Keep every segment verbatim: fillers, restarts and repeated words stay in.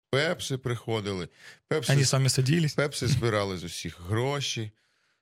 Пепси приходили. Пепси, Они сами садились? Пепси збирали з усіх гроші.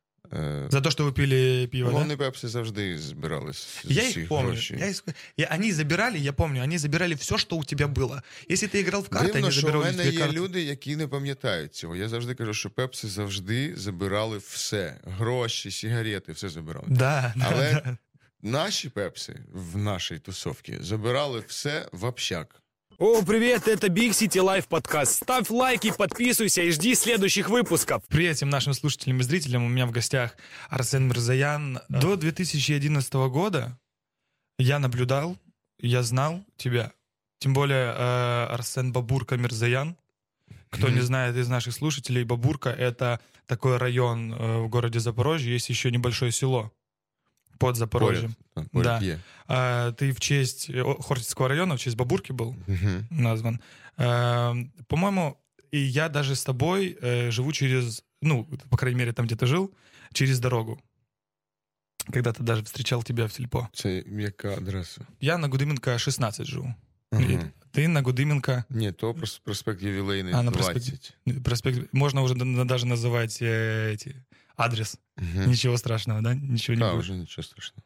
За то, что вы пили пиво, Вони, да? Вони Пепси завжди збирали з я усіх их помню. гроші. Я их... я... Они забирали, я помню, они забирали все, что у тебя было. Если ты играл в карты, Дивно, они що забирали в мене у тебя є карты. люди, які не пам'ятають цього. Я завжди кажу, що Пепси завжди забирали все. Гроші, сигарети, все забирали. Да, Але да, да. наші Пепси в нашій тусовці забирали все в общак. О, привет, это Big City Life подкаст. Ставь лайки, подписывайся и жди следующих выпусков. Привет всем нашим слушателям и зрителям. У меня в гостях Арсен Мирзоян. До две тысячи одиннадцатого года я наблюдал, я знал тебя. Тем более э, Арсен Бабурка Мирзоян. Кто mm-hmm. не знает из наших слушателей, Бабурка — это такой район э, в городе Запорожье. Есть еще небольшое село под Запорожьем. Поряд, да. поряд А, ты в честь Хортицкого района, в честь Бабурки был угу. назван. А, по-моему, и я даже с тобой э, живу через, ну, по крайней мере, там, где ты жил, через дорогу. Когда-то даже встречал тебя в сельпо. Це яка адреса? Я на Гудименко шестнадцать живу. Угу. Ты на Гудименко... Ні, то проспект Ювілейний а, на двадцать. Проспект... проспект... Можно уже даже называть э, эти... адрес. Угу. Ничего страшного, да? Ничего не да, будет. уже ничего страшного.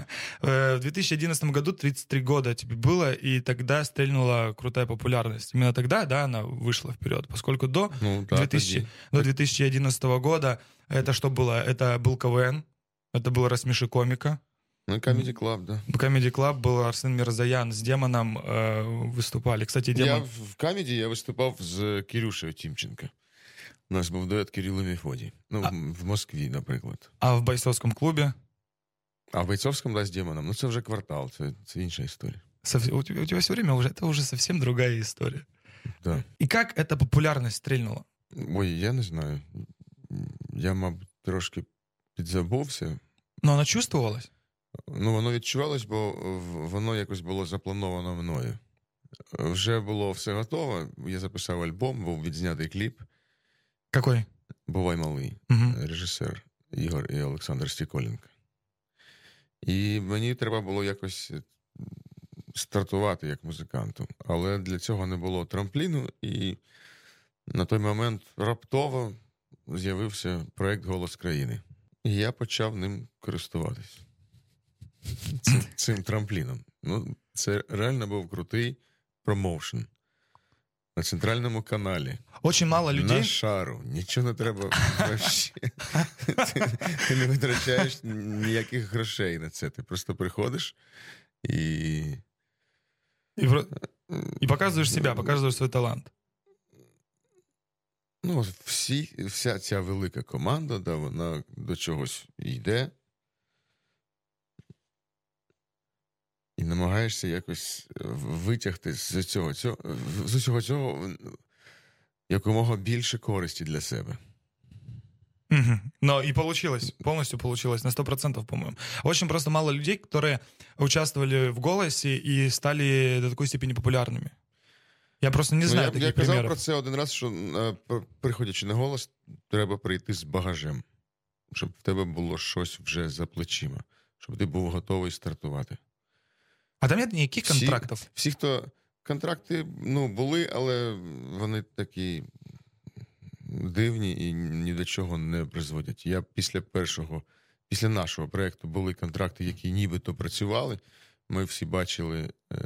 В две тысячи одиннадцатом году тридцать три года тебе было, и тогда стрельнула крутая популярность. Именно тогда, да, она вышла вперед, поскольку до, ну, да, две тысячи, до две тысячи одиннадцатого года это что было? Это был КВН, это был «Рассмеши комика». Ну, Comedy Club, да. В Comedy Club был Арсен Мирзоян, с Демоном э, выступали. Кстати, Демон... Я в Comedy я виступав з Кирюшею Тімченко. У нас був дует Кирилл і Мефодій. Ну, а... в Москві, наприклад. А в бойцовському клубі? А в бойцовському, да, з Демоном. Ну, це вже квартал, це, це інша історія. Сов... У, тебя, у тебя все время уже, это уже совсем другая история. Да. И как эта популярность стрельнула? Ой, я не знаю. Я, мабуть, трошки підзабувся. Но она чувствовалась? Ну, воно відчувалось, бо воно якось було заплановано мною. Вже було все готово, я записав альбом, був відзнятий кліп. Какой? «Бувай малий», угу. режисер Ігор і Олександр Стіколенко. І мені треба було якось стартувати як музиканту. Але для цього не було трампліну, і на той момент раптово з'явився проєкт «Голос країни». І я почав ним користуватись. Цим, цим трампліном. Ну, це реально був крутий промоушен. На центральному каналі. Очень мало людей. На шару. Нічого не треба вообще. Ти, ти не витрачаєш ніяких грошей на це. Ти просто приходиш і... І, і показуєш себе, показуєш свій талант. Ну, всі, вся ця велика команда, да, вона до чогось йде. І намагаєшся якось витягти з цього, цього, з усього цього якомога більше користі для себе. Угу. Но и получилось, полностью получилось, на сто процентов, по-моему. Очень просто мало людей, которые участвовали в «Голосе» и стали до такой степени популярными. Я просто не знаю ну, я, таких примеров. Я казав про це один раз, що приходячи на «Голос», треба прийти з багажем, щоб в тебе було щось вже за плечима, щоб ти був готовий стартувати. А там нет ніяких контрактів? Всі, всі, хто... Контракти, ну, були, але вони такі дивні і ні до чого не призводять. Я після першого, після нашого проєкту були контракти, які нібито працювали. Ми всі бачили е,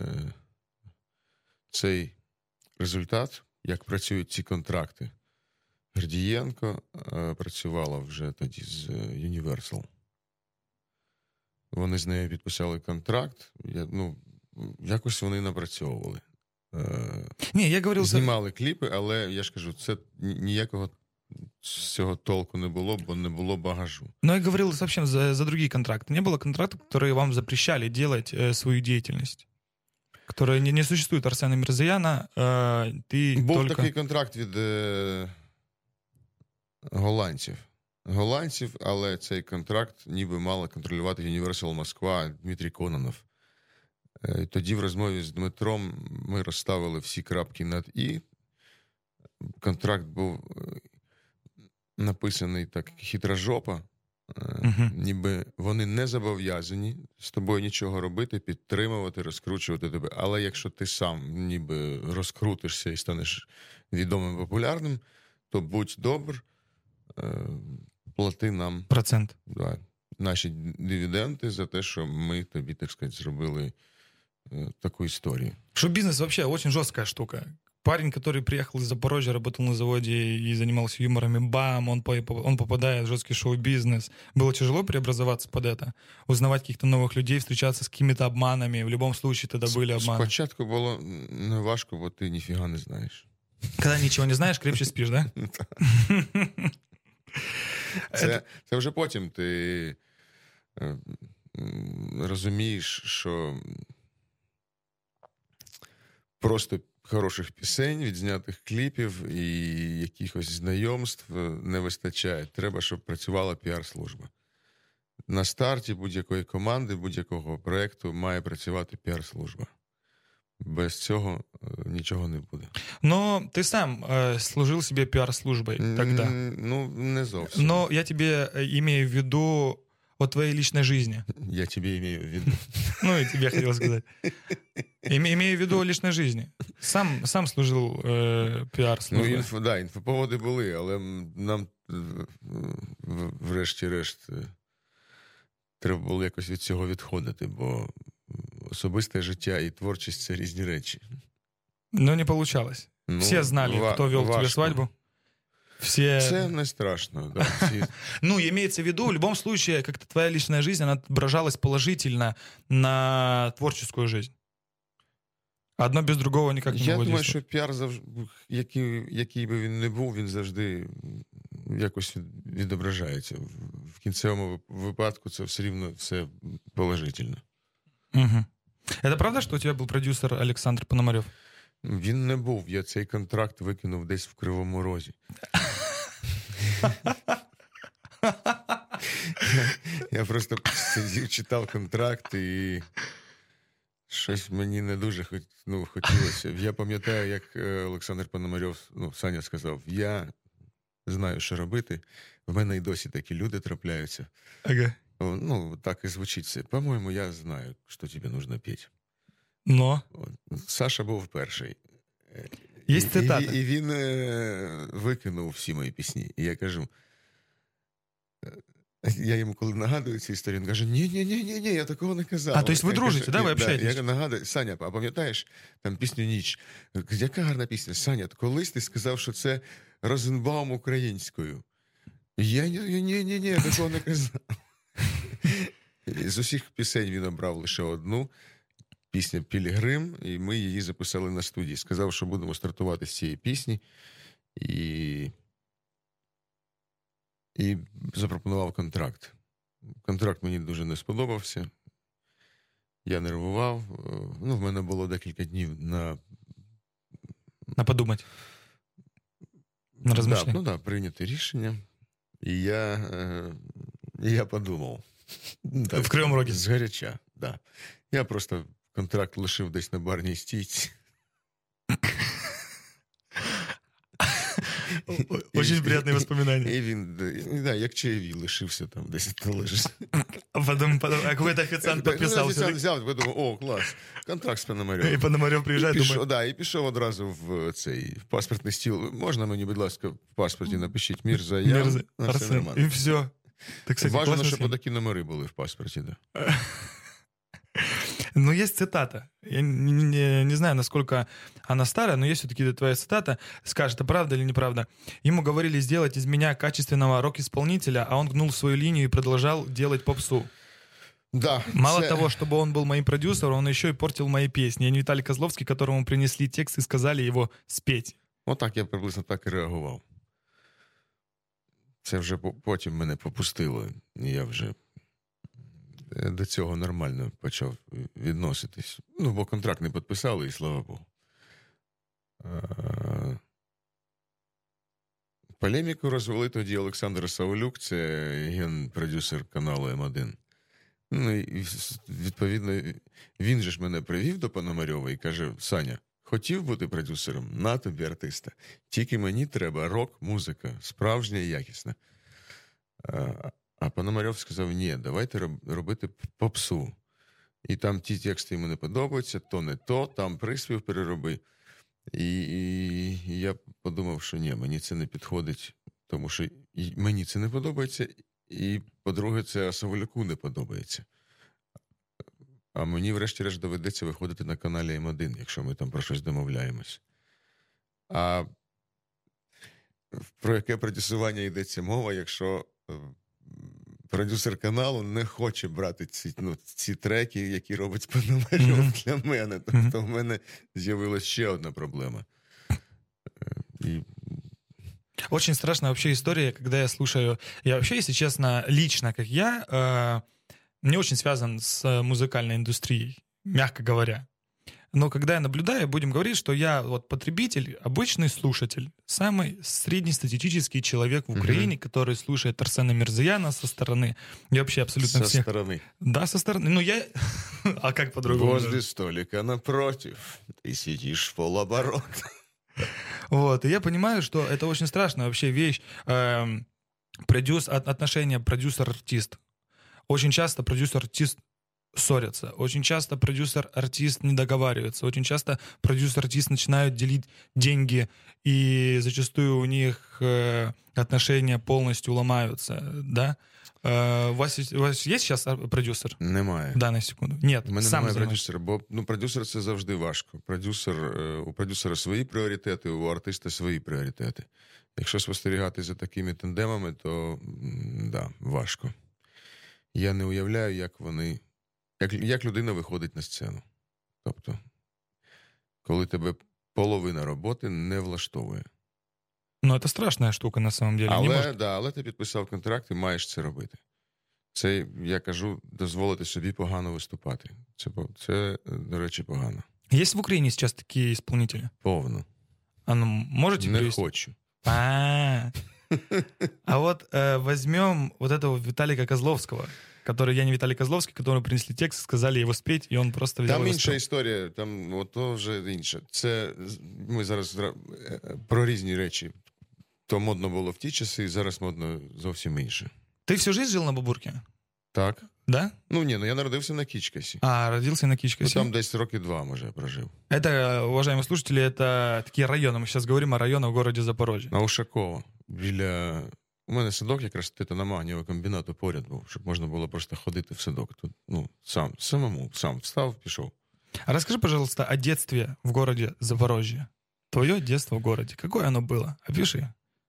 цей результат, як працюють ці контракти. Гордієнко е, працювала вже тоді з Universal. Вони з нею підписали контракт. Я, ну, якось вони напрацьовували. Ні, я говорив, знімали кліпи, але я ж кажу, це ніякого з цього толку не було, бо не було багажу. Но я говорил вообще за, за другие контракты. Не было контрактов, которые вам запрещали делать э, свою деятельность? Которые не, не существует Арсена Мирзояна, э, ты Був только... такий контракт від е, голландців. Голландців, але цей контракт ніби мала контролювати Universal Москва, Дмитрій Кононов. Тоді в розмові з Дмитром ми розставили всі крапки над «і». Контракт був написаний так хитрожопа, Uh-huh. Ніби вони не зобов'язані з тобою нічого робити, підтримувати, розкручувати тебе. Але якщо ти сам ніби розкрутишся і станеш відомим, популярним, то будь добр, плати нам процент. Да, наші дивіденди за те, що ми тобі, так сказати, зробили таку історію. Шоу-бизнес вообще очень жесткая штука. Парень, который приехал из Запорожья, работал на заводе и занимался юмором, и бам, он, он попадает в жесткий шоу-бизнес. Было тяжело преобразоваться под это? Узнавать каких-то новых людей, встречаться с какими-то обманами? В любом случае тогда были обманы. Спочатку було не важко, бо ти ніфіга не знаєш. Когда ничего не знаешь, крепче спишь, да? Це, це вже потім ти розумієш, що просто хороших пісень, відзнятих кліпів і якихось знайомств не вистачає. Треба, щоб працювала піар-служба. На старті будь-якої команди, будь-якого проєкту має працювати піар-служба. Без цього нічого не буде. Но ты сам э, служил себе пиар-службой тогда. Ну, не зовсім. Но я тебе имею в виду о твоей личной жизни. Я тебе имею в виду. Ну, и тебе хотел сказать. Имею в виду о личной жизни. Сам, сам служил э, піар-службою. Ну, інфо, да, інфоповоди були, але нам врешті-решт треба було якось від цього відходити, бо особисте життя і творчість – це різні речі. Ну, не получалось. Ну, все знали, ва- кто вел тебе свадьбу. Все... Це не страшно. Да, всі... Ну, имеется в виду, в любом случае, как-то твоя личная жизнь, она отображалась положительно на творческую жизнь. Одно без другого никак не Я могло думаю, действовать. що піар, завжди, який, який би він не був, він завжди якось відображається. В кінцевому випадку це все рівно все положительно. Угу. Это правда, что у тебя был продюсер Олександр Пономарьов? Він не був. Я цей контракт викинув десь в Кривому Розі. Я просто сидів, читав контракт і щось мені не дуже хот... ну, хотілося. Я пам'ятаю, як Олександр Пономарьов, ну, Саня сказав, я знаю, що робити. В мене і досі такі люди трапляються. Ага. Ну, так і звучить це. По-моєму, я знаю, що тобі потрібно піти. Но? Саша був перший. Є цитата. І, і він е, викинув всі мої пісні. І я кажу, я йому коли нагадую цю історію, він каже, ні-ні-ні, я такого не казав. А, то есть ви дружите, да, ви общаєтесь? Я нагадую, Саня, а пам'ятаєш там пісню «Ніч»? Яка гарна пісня? Саня, колись ти сказав, що це Розенбаум українською. Я ні-ні-ні, я такого не казав. З усіх пісень він обрав лише одну. Пісня «Пілігрим», і ми її записали на студії. Сказав, що будемо стартувати з цієї пісні. І, і запропонував контракт. Контракт мені дуже не сподобався. Я нервував. Ну, в мене було декілька днів на... На подумати. На розмишлення. Да, ну так, да, прийняти рішення. І я, е, і я подумав. В Кривому Розі? Згаряча, так. Да. Я просто... Контракт лишив десь на барній стійці. Очень приятные воспоминания. І він, да, як чаєві, лишився там, десь то лежить. А потом, потом а какой-то официант подписался. Офіціант взяв, подумав, о, клас, контракт з Пономарьовим. І Пономарьов приїжджає, і пішов, думає... да, і пішов одразу в цей в паспортний стіл. Можна мені, будь ласка, в паспорті напишіть Мірзаян? Мірза... Арсен. І все. Так, кстати, важно, щоб такі номери були в паспорті, да. Ну, есть цитата. Я не, не, не знаю, насколько она старая, но есть все-таки твоя цитата. Скажешь, это правда или неправда. Ему говорили сделать из меня качественного рок-исполнителя, а он гнул свою линию и продолжал делать попсу. Да, Мало це... того, чтобы он был моим продюсером, он еще и портил мои песни. Я не Виталий Козловский, которому принесли текст и сказали его спеть. Отак я приблизно так і реагував. Це вже потім мене попустило. Я вже до цього нормально почав відноситись. Ну, бо контракт не підписали, і слава Богу. Полеміку розвели тоді Олександр Саулюк, це ген-продюсер каналу Ем один. Ну, і відповідно, він же ж мене привів до Пономарьова і каже, Саня, хотів бути продюсером? На тобі артиста. Тільки мені треба рок-музика, справжня і якісна. А Пономарьов сказав, ні, давайте робити попсу. І там ті тексти йому не подобаються, то не то, там приспів перероби. І, і, і я подумав, що ні, мені це не підходить, тому що і мені це не подобається, і, по-друге, це Саволяку не подобається. А мені, врешті-решт, доведеться виходити на каналі Ем один, якщо ми там про щось домовляємось. А про яке продюсування йдеться мова, якщо продюсер каналу не хоче брати ці, ну, ці треки, які робить Пономарьов mm-hmm. для мене. Тобто mm-hmm. в мене з'явилася ще одна проблема. И... Очень страшная вообще история, когда я слушаю... Я вообще, если честно, лично, как я, э, не очень связан с музыкальной индустрией, мягко говоря. Но когда я наблюдаю, будем говорить, что я вот потребитель, обычный слушатель, самый среднестатистический человек в Украине, mm-hmm. который слушает Арсена Мирзояна со стороны. Я вообще абсолютно со всех... Со стороны? Да, со стороны. Ну, я... А как по-другому? Возле столика напротив. Ты сидишь в полоборота. Вот, и я понимаю, что это очень страшная вообще вещь. Эм, продюс... Отношения продюсер-артист. Очень часто продюсер-артист ссорятся. Очень часто продюсер-артист не договаривается. Очень часто продюсер-артист начинают делить деньги, и зачастую у них э, отношения полностью ломаются, да? Э, у, вас, у вас є зараз продюсер? Немає. В дану секунду? Нет, у мене сам немає займаєш. продюсера, бо ну, продюсер це завжди важко. Продюсер, у продюсера свої пріоритети, у артиста свої пріоритети. Якщо спостерігати за такими тандемами, то да, важко. Я не уявляю, як вони... Як, як людина виходить на сцену. Тобто, коли тебе половина роботи не влаштовує. Ну, це страшна штука, на самом деле. Але, може... да, але ти підписав контракт і маєш це робити. Це, я кажу, дозволити собі погано виступати. Це, це до речі, погано. Є в Україні зараз такі исполнителі? Повно. А ну, можете Не привести? хочу. А, а вот э, возьмем вот этого Виталика Козловского, который, я не Виталий Козловский, которому принесли текст, сказали его спеть, і він просто взяв. Там і інша спів. історія, там ото вже інше. Це ми зараз про різні речі. То модно було в ті часи, і зараз модно зовсім інше. Ти всю жизнь жив на Бабурке? Так. Да? Ну ні, ну я народився на Кічкасі. А, родился на Кичкасе. Ну там десь роки два, може, я прожив. Это, уважаемые слушатели, это такие районы. Мы сейчас говорим о районах в городе Запорожье. На Ушакова. Біля... У мене садок якраз титаномагнієвого комбінату поряд був, щоб можна було просто ходити в садок. Тут, ну, сам, самому, сам встав, пішов. А расскажи, пожалуйста, о детстве в городе Запорожье. Твое детство в городе. Какое оно было? Опиши.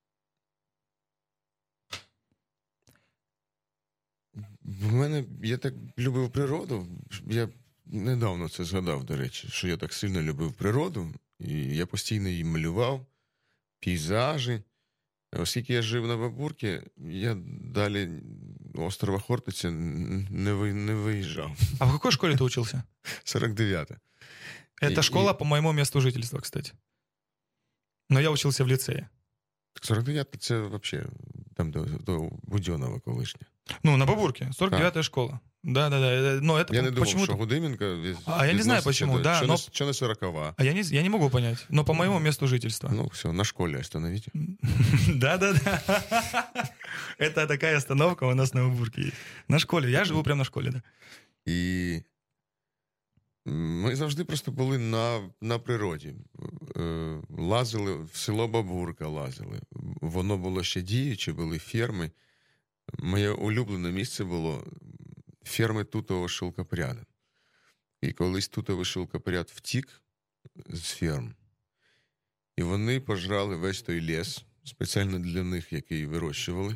В мене, я так любив природу. Я недавно це згадав, до речі, що я так сильно любив природу. І я постійно її малював, пейзажі. Оскільки я жив на Бабурці, я далі острова Хортиця не, ви, не виїжджав. А в какой школе ты учился? сорок дев'ята. Это и, школа и... по моему месту жительства, кстати. Но я учился в лицее. сорок дев'ята це взагалі там до, до Будьонова колишня. Ну, на Бабурке. сорок дев'ятая школа. Да-да-да. Но это я не думав, почему-то... що Гудименко... А я не знаю почему, до... да. Що, но... не, що не сорокова? А я не, я не могу понять. Но по моему месту жительства. Ну, все, на школе остановите. Да-да-да. Это такая остановка у нас на Бабурке есть. На школе. Я живу прямо на школе, да. І ми завжди просто були на, на природі. Лазили, в село Бабурка лазили. Воно було ще діюче, були ферми. Моє улюблене місце було ферми тутового шелкопряда. І колись тутовий шелкопряд втік з ферм, і вони пожрали весь той ліс, спеціально для них, який вирощували.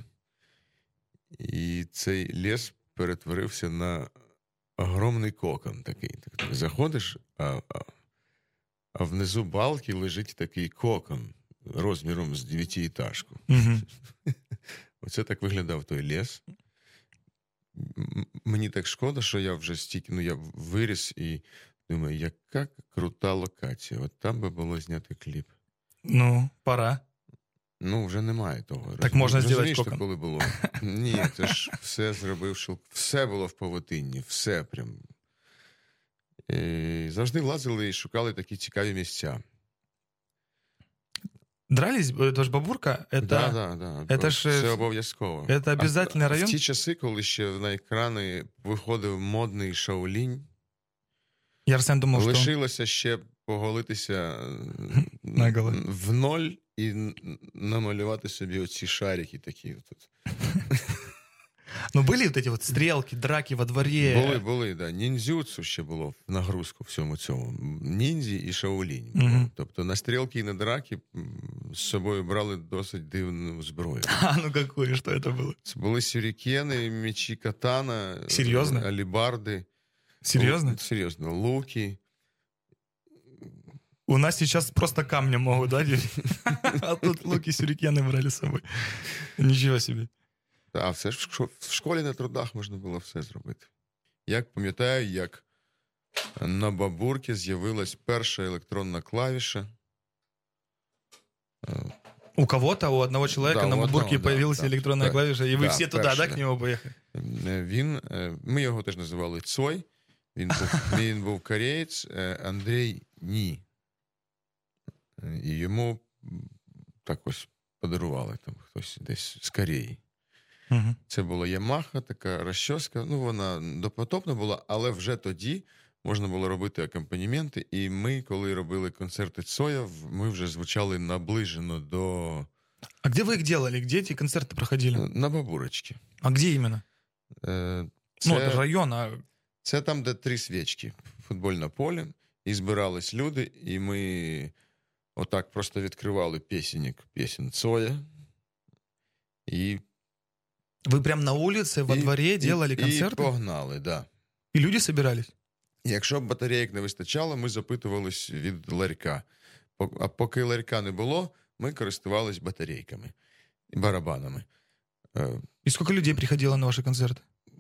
І цей ліс перетворився на огромний кокон такий. Так, заходиш, а, а, а внизу балки лежить такий кокон розміром з дев'ятиэтажку. Угу. Оце так виглядав той ліс. Мені так шкода, що я вже стільки, ну, я виріс і думаю, яка крута локація. От там би було зняти кліп. Ну, пора. Ну, вже немає того. Так можна зробити кокон. Коли було. Ні, це ж все зробив, що все було в павутинні, все прям. І завжди лазили і шукали такі цікаві місця. Дрались? Это ж Бабурка? Это, да, да, да. это ж... Це обов'язково. Это обязательный а, район? В ті часи, коли ще на екрани виходив модний Шаолінь, Я Арсен думав, що... лишилося ще поголитися Наголо. в ноль і намалювати собі оці шарики такі тут. Ну, були вот эти вот стрелки, драки во дворі? Були, були, да. Ніндзюцу ще було в нагрузку всьому цьому. Ніндзі і Шаолінь. Угу. Тобто на стрілки і на драки з собою брали досить дивну зброю. А, ну какое, що це було? Це були сюрікени, мечі катана, Серйозно? алібарди. Серйозно? Лу... Серйозно. Луки. У нас сейчас просто камнем могут, да? А тут луки, сюрикены брали з собою. Нічого собі. А все ж в школі на трудах можна було все зробити. Як пам'ятаю, як на Бабурці з'явилась перша електронна клавіша. У кого-то, у одного человека да, на Бабурке одного, появилась да, электронная да, клавиша, и вы да, все туда, перша, да, к нему поехали? Він, ми його теж називали Цой. Він був, він був кореєць, Андрій Ні. І йому так ось подарували там хтось десь з Кореї. Угу. Це була Ямаха, така розчоска. Ну, вона допотопна була, але вже тоді можна було робити акомпанементи. І ми, коли робили концерти Цоя, ми вже звучали наближено до... А где вы их делали? Где эти концерты проходили? На Бабурочці. А где именно? Це... Ну, это район, а... Це там, де три свічки, футбольне поле, і збирались люди, і ми отак просто відкривали пісенник, пісень Цоя, і... Вы прям на улице, во і, дворе делали і, концерты? І погнали, да. И люди собирались? Якщо б батарейок не вистачало, ми запитувались від ларька. А поки ларька не було, ми користувались батарейками і барабанами. И сколько людей приходило на ваши концерты?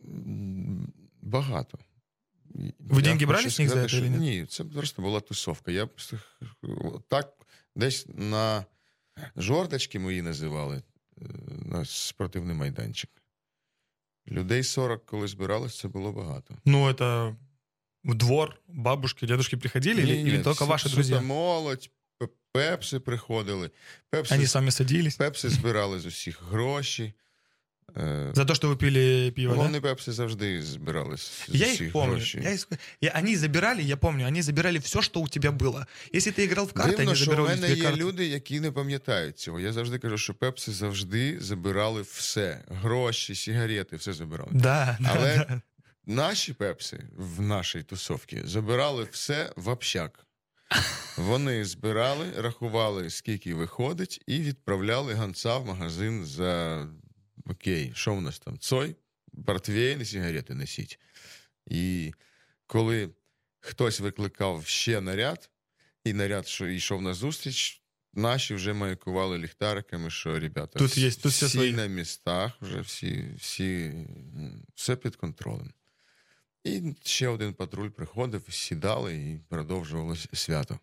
Багато. Ви деньги брали з них за це? Ні? Ні, це просто була тусовка. Я так десь на жорточки мої називали, на спортивний майданчик. Людей сорок, коли збиралось, це було багато. Ну, это в двор бабушки, дедушки приходили? Ні, или, ні, или только ваши друзья? молодь, пепси приходили. Пепси, Они с вами садились? Пепси збирали з усіх гроші. За то, что вы пили пиво, Вони да? пепси завжди збирали з Я усіх их помню. грошей. Я их... Я, они забирали, я помню, они забирали все, что у тебя было. Если ты играл в карты, Дивно, они що забирали в у мене тебя є карты. люди, які не пам'ятають цього. Я завжди кажу, що пепси завжди забирали все. Гроші, сигарети, все забирали. Да, Але да, да. наші пепси в нашій тусовці забирали все в общак. Вони збирали, рахували, скільки виходить, і відправляли гонца в магазин за окей, що в нас там? Цой, портвейн і сигарети несіть. І коли хтось викликав ще наряд, і наряд що йшов на зустріч, наші вже маякували ліхтариками, що, ребята, тут є, тут всі свої. на містах, вже всі, всі, все під контролем. І ще один патруль приходив, сідали і продовжувалося свято.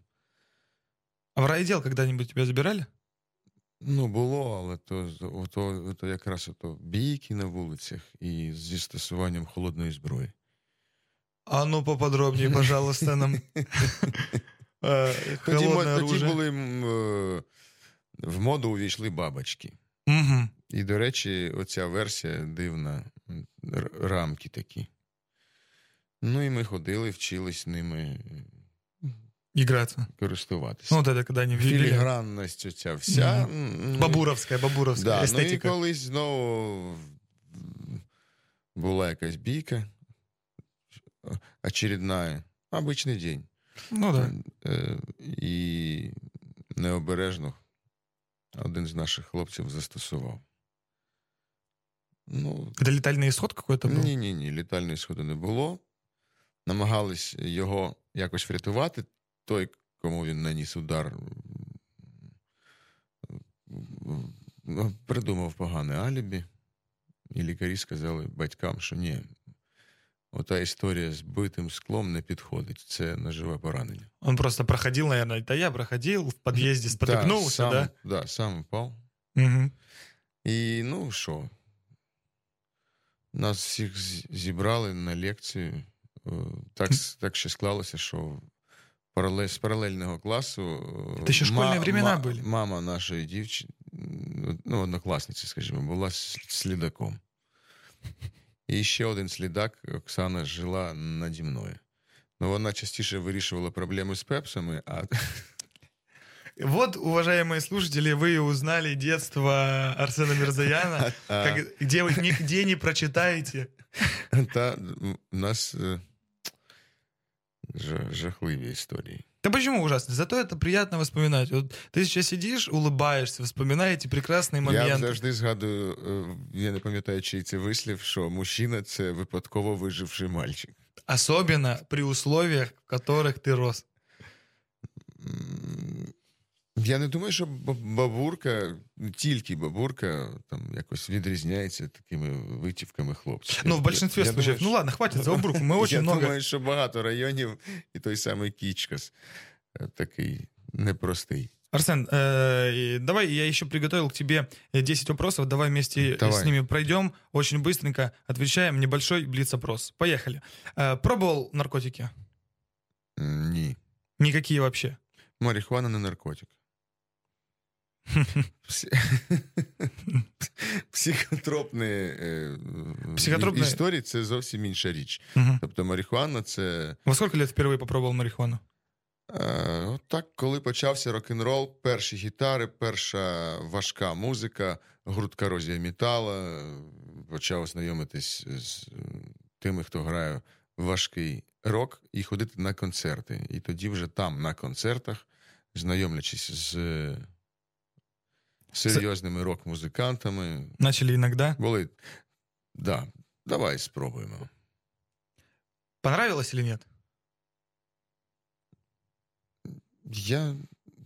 А в райотдел когда-нибудь тебя забирали? Ну, було, але то, то, то якраз ото бійки на вулицях і зі стосуванням холодної зброї. А ну поподробнее, пожалуйста, нам. Тоді, Холодне тоді оружие. були в моду увійшли бабочки. Угу. І, до речі, оця версія дивна, рамки такі. Ну і ми ходили, вчились ними Играться. користуватися. Ну, вот это когда они ввели. Філігранність оця вся. Mm. Бабуровська, бабуровська да, естетика. Ну і колись знову була якась бійка очередна, обичний день. Ну да. І необережно один з наших хлопців застосував. Ну, Это летальный исход какой-то был? Ні-ні-ні, літальної сходу не було. Намагались його якось врятувати. Той, кому він наніс удар, придумав погане алібі. І лікарі сказали батькам, що ні, ота історія з битим склом не підходить. Це ножове поранення. Он просто проходил, наверное, это я проходил, в подъезде спотыкнулся, да? Да, сам, да, сам упав. Угу. І, ну, що, нас всіх зібрали на лекцію. Так, так ще склалося, що паралель, з паралельного класу. Это еще школьные времена были. Мама нашої дівчини, ну, однокласниці, скажімо, була слідаком. І ще один слідак, Оксана, жила наді мною. Ну, вона частіше вирішувала проблеми з пепсами, а... Вот, уважаемые слушатели, вы узнали детство Арсена Мирзояна, как, где вы нигде не прочитаете. Та у нас жахливі історії. Да почему ужасно? Зато это приятно вспоминать. Вот ты сейчас сидишь, улыбаешься, вспоминаете прекрасные моменты. Я завжди згадую, я не пам'ятаю, чий це вислів, що мужчина – це випадково виживший мальчик. Особенно при условиях, в которых ты рос. Я не думаю, що бабурка, тільки бабурка, там якось відрізняється такими витівками хлопців. Ну, в большинстве я, случаев. Я думаю, ну, ладно, хватит за обруку. Мы очень я много... Я думаю, що багато районів і той самий Кічкас такий непростий. Арсен, э, давай я еще приготовил к тебе десять вопросов. Давай вместе давай. с ними пройдем. Очень быстренько отвечаем. Небольшой блиц-опрос. Поехали. Э, пробовал наркотики? Ні. Никакие вообще? Марихуана не наркотик. Психотропні, Психотропні історії – це зовсім інша річ. Угу. Тобто марихуана – це... Во скільки років вперше попробував марихуану? Е, так, коли почався рок-н-рол, перші гітари, перша важка музика, гурт «Корозія металу», почав знайомитись з тими, хто грає важкий рок, і ходити на концерти. І тоді вже там, на концертах, знайомлячись з серйозними рок-музикантами. Начали иногда? Були, да, давай спробуємо. Понравилось или нет? Я...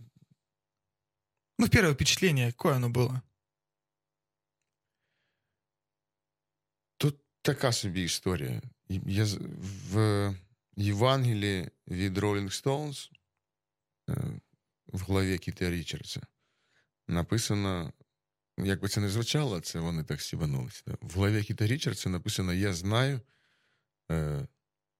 Ну, первое впечатление, какое оно было? Тут така собі історія. Я в Євангелії від Rolling Stones в главі Кіта Річардса написано, як би це не звучало, це вони так сібанулися. В главі Кіта Річардса написано «Я знаю е,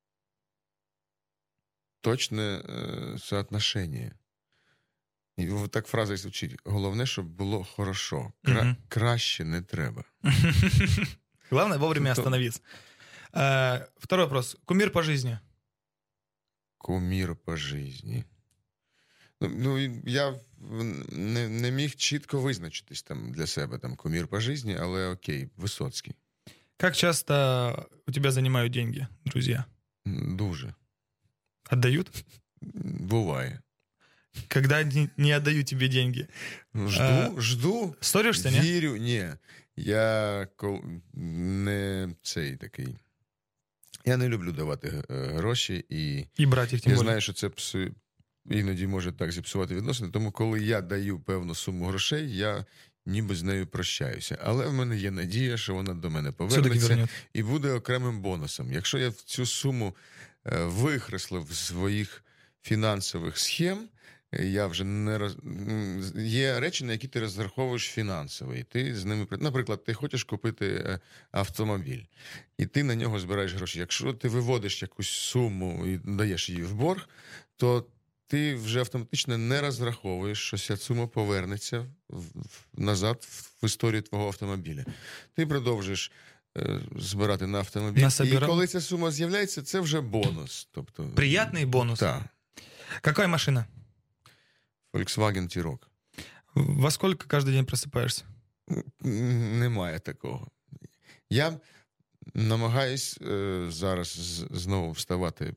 точне е, соотношення». І так фраза і звучить. Головне, щоб було хорошо. Кра- mm-hmm. Краще не треба. Главное вовремя остановиться. А, второй вопрос. Кумир по жизни? Кумир по жизни. Ну, ну я не, не міг чітко визначитись там для себе, там, кумир по жизни, але окей, Висоцький. Как часто у тебя занимают деньги, друзья? Дуже. Отдают? Буває. Когда не, не отдаю тебе деньги? Жду, а, жду. Ссоришься, не? Вірю, ні. Я не цей такий. Я не люблю давати гроші і, і брати їх, тим я более. знаю, що це псу... іноді може так зіпсувати відносини, тому коли я даю певну суму грошей, я ніби з нею прощаюся. Але в мене є надія, що вона до мене повернеться і буде окремим бонусом. Якщо я в цю суму е, вихреслив з своїх фінансових схем, я вже не роз... Є речі, на які ти розраховуєш фінансово. І ти з ними... Наприклад, ти хочеш купити автомобіль, і ти на нього збираєш гроші. Якщо ти виводиш якусь суму і даєш її в борг, то ти вже автоматично не розраховуєш, що ця сума повернеться назад в історію твого автомобіля. Ти продовжуєш е, збирати на автомобіль. Насобирав. І коли ця сума з'являється, це вже бонус. Тобто, приятний бонус? Так. Какая машина? Volkswagen T-Roc. Во сколько каждый день просыпаешься? Немає такого. Я намагаюсь е, зараз знову вставати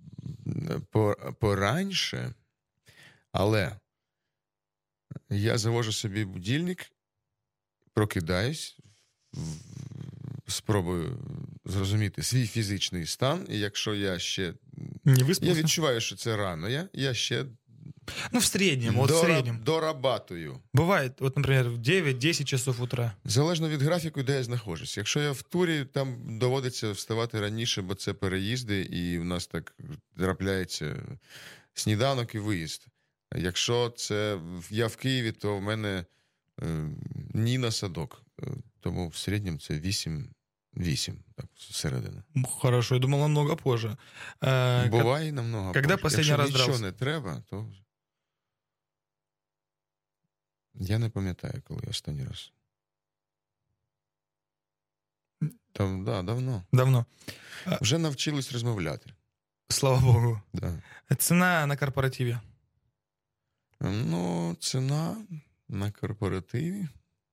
пораньше, але я завожу собі будильник, прокидаюсь, спробую зрозуміти свій фізичний стан, і якщо я ще... Не виспався? Я відчуваю, що це рано, я, я ще... Ну, в среднем, вот Дора... в среднем. Дорабатую. Бывает, вот, например, в девять-десять часов утра. Залежно від графіку, де я знаходжусь. Якщо я в турі, там доводиться вставати раніше, бо це переїзди, і в нас так трапляється сніданок і виїзд. Якщо це я в Києві, то в мене е, ні на садок. Тому в середньому це вісім вісім, так, середина. Хорошо, я думал, намного позже. Э, Буває намного Когда позже. последний Якщо раз нічого дрался? не треба, то... Я не пам'ятаю, коли останній раз. Там, да, давно. Давно. Вже навчились розмовляти. Слава богу. Да. Цена на корпоративе? Ну, ціна на корпоративі.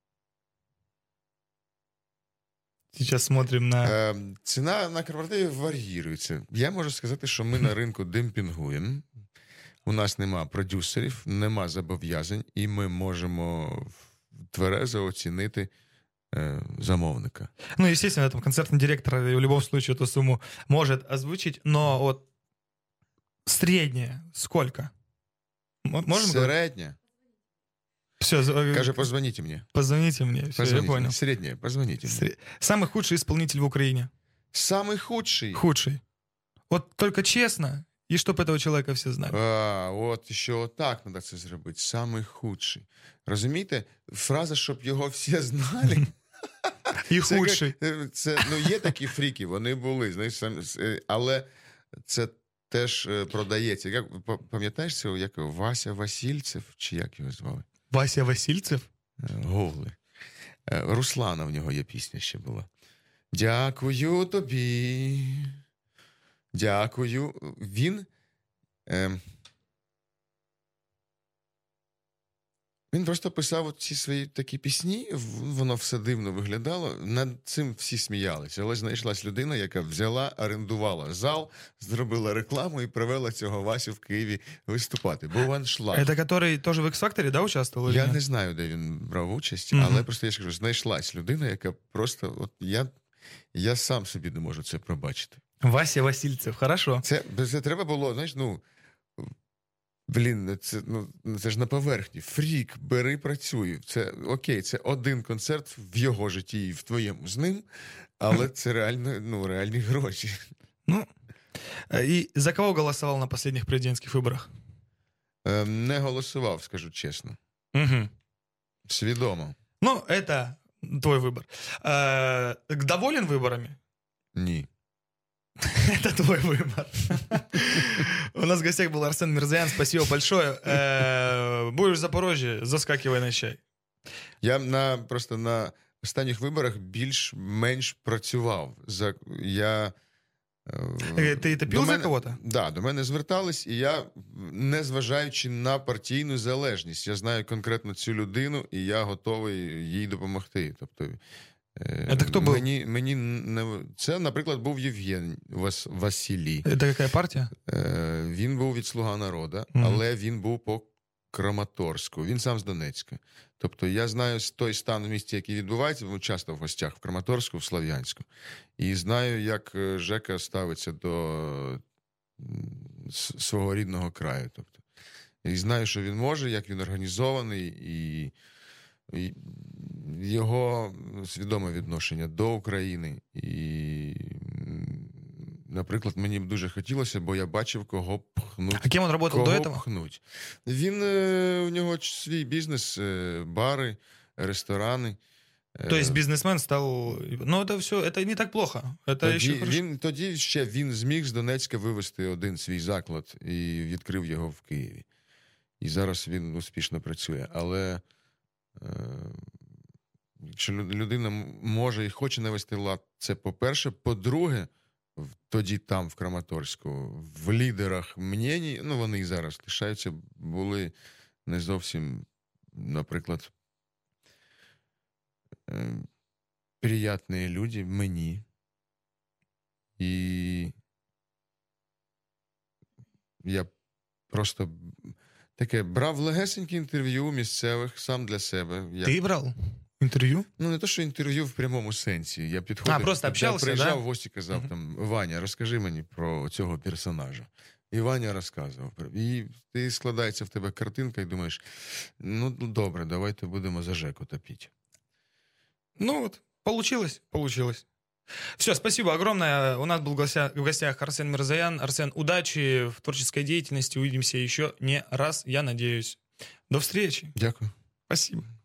Сейчас смотрим на... Е, ціна на корпоративі вар'їрується. Я можу сказати, що ми на ринку демпінгуємо. У нас нема продюсерів, нема зобов'язань, і ми можемо тверезо оцінити е, замовника. Ну, естественно, там концертный директор в любом случае эту сумму может озвучить, но вот средняя сколько? М- Можем говорить? Середня. Все, Каже, позвоніть мені. позвоните мне. Все, Позвоніть я мені. понял. Середня, позвоніть мені. Сре- Самый худший исполнитель в Украине. Самий худший. Худший. Вот только честно, и чтоб этого человека все знали. А, от ще отак треба це зробити. Самий худший. Розумієте? Фраза, щоб його всі знали. И Це, худший. як- це, ну, є такі фріки, вони були, знаєш, сам- е, але це теж е, продається. Як, п- пам'ятаєш цього, як його? Вася Васильцев, чи як його звали? Вася Васильцев? Е, Голи. Е, Руслана в нього є пісня ще була. Дякую тобі. Дякую. Він. Е, Він просто писав ці свої такі пісні, в- воно все дивно виглядало. Над цим всі сміялися. Але знайшлась людина, яка взяла, орендувала зал, зробила рекламу і привела цього Васю в Києві виступати. Був аншлаг. Это который тоже в X-Factor, да, участвовал? или Я нет? не знаю, де він брав участь, Мгм. але просто я ж кажу, знайшлась людина, яка просто, от я, я сам собі не можу це пробачити. Вася Васильцев, хорошо. Це, це треба було, знаєш, ну. Блін, це, ну, це ж на поверхні. Фрік, бери, працюй. Це окей, це один концерт в його житті і в твоєму з ним, але це реально, ну, реальні гроші. Ну, э, и за кого голосовал на последних президентских выборах? Е, Не голосував, скажу чесно. Мгм. Свідомо. Ну, это твой выбор. Э, Доволен выборами? Ні. Это твой выбор. У нас в гостях был Арсен Мирзоян. Спасибо большое. Э, Будешь в Запорожье, заскакивай на чай. Я на, просто на останніх виборах більш-менш працював. За, я, е, Э, Ты до топил за мене- кого-то? Да, до мене звертались, і я, незважаючи на партійну залежність, я знаю конкретно цю людину, і я готовий їй допомогти. Тобто, е, Це хто був? Мені, мені не... Це, наприклад, був Євген Вас... Василій. Это какая партия? Е, Він був від «Слуга народу», Мгм. але він був по Краматорську. Він сам з Донецька. Тобто я знаю той стан в місті, який відбувається, ми часто в гостях в Краматорську, в Слов'янську. І знаю, як е, Жека ставиться до м, с- свого рідного краю. Тобто. І знаю, що він може, як він організований, і, і його свідоме відношення до України. І, м, наприклад, мені б дуже хотілося, бо я бачив, кого пхнуть. А кем он работал Кого до этого? пхнуть. Він, е, у нього ч- свій бізнес, е, бари, ресторани. Е, То есть бизнесмен стал... Ну, это все, это не так плохо. Это тоді, еще хорошо. він, тоді ще він зміг з Донецька вивезти один свій заклад і відкрив його в Києві. І зараз він успішно працює. Але е, якщо лю- людина м- може і хоче навести лад, це по-перше. По-друге, в- тоді там, в Краматорську, в лідерах мнєній, ну вони і зараз лишаються, були не зовсім, наприклад, е, приятні люди мені. І я просто таке брав легесеньке інтерв'ю місцевих сам для себе. Я, Ты брал интервью? Ну, не то, що інтерв'ю в прямому сенсі. Я підходив, А, просто я общався, приїжджав да? в гості, казав Мгм. там: Ваня, розкажи мені про цього персонажа. І Ваня розказував. І ти складається в тебе картинка і думаєш, ну, добре, давайте будемо за Жеку топити. Ну вот, получилось, получилось. Все, спасибо огромное. У нас был в гостях, в гостях Арсен Мирзоян. Арсен, удачи в творческой деятельности. Увидимся еще не раз, я надеюсь. До встречи. Дякую. Спасибо.